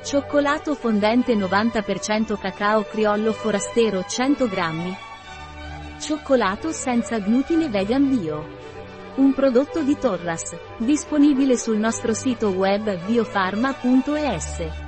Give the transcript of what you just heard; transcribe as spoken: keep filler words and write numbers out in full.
Cioccolato fondente novanta per cento cacao criollo forastero cento grammi. Cioccolato senza glutine vegan bio. Un prodotto di Torras, disponibile sul nostro sito web biofarma punto es.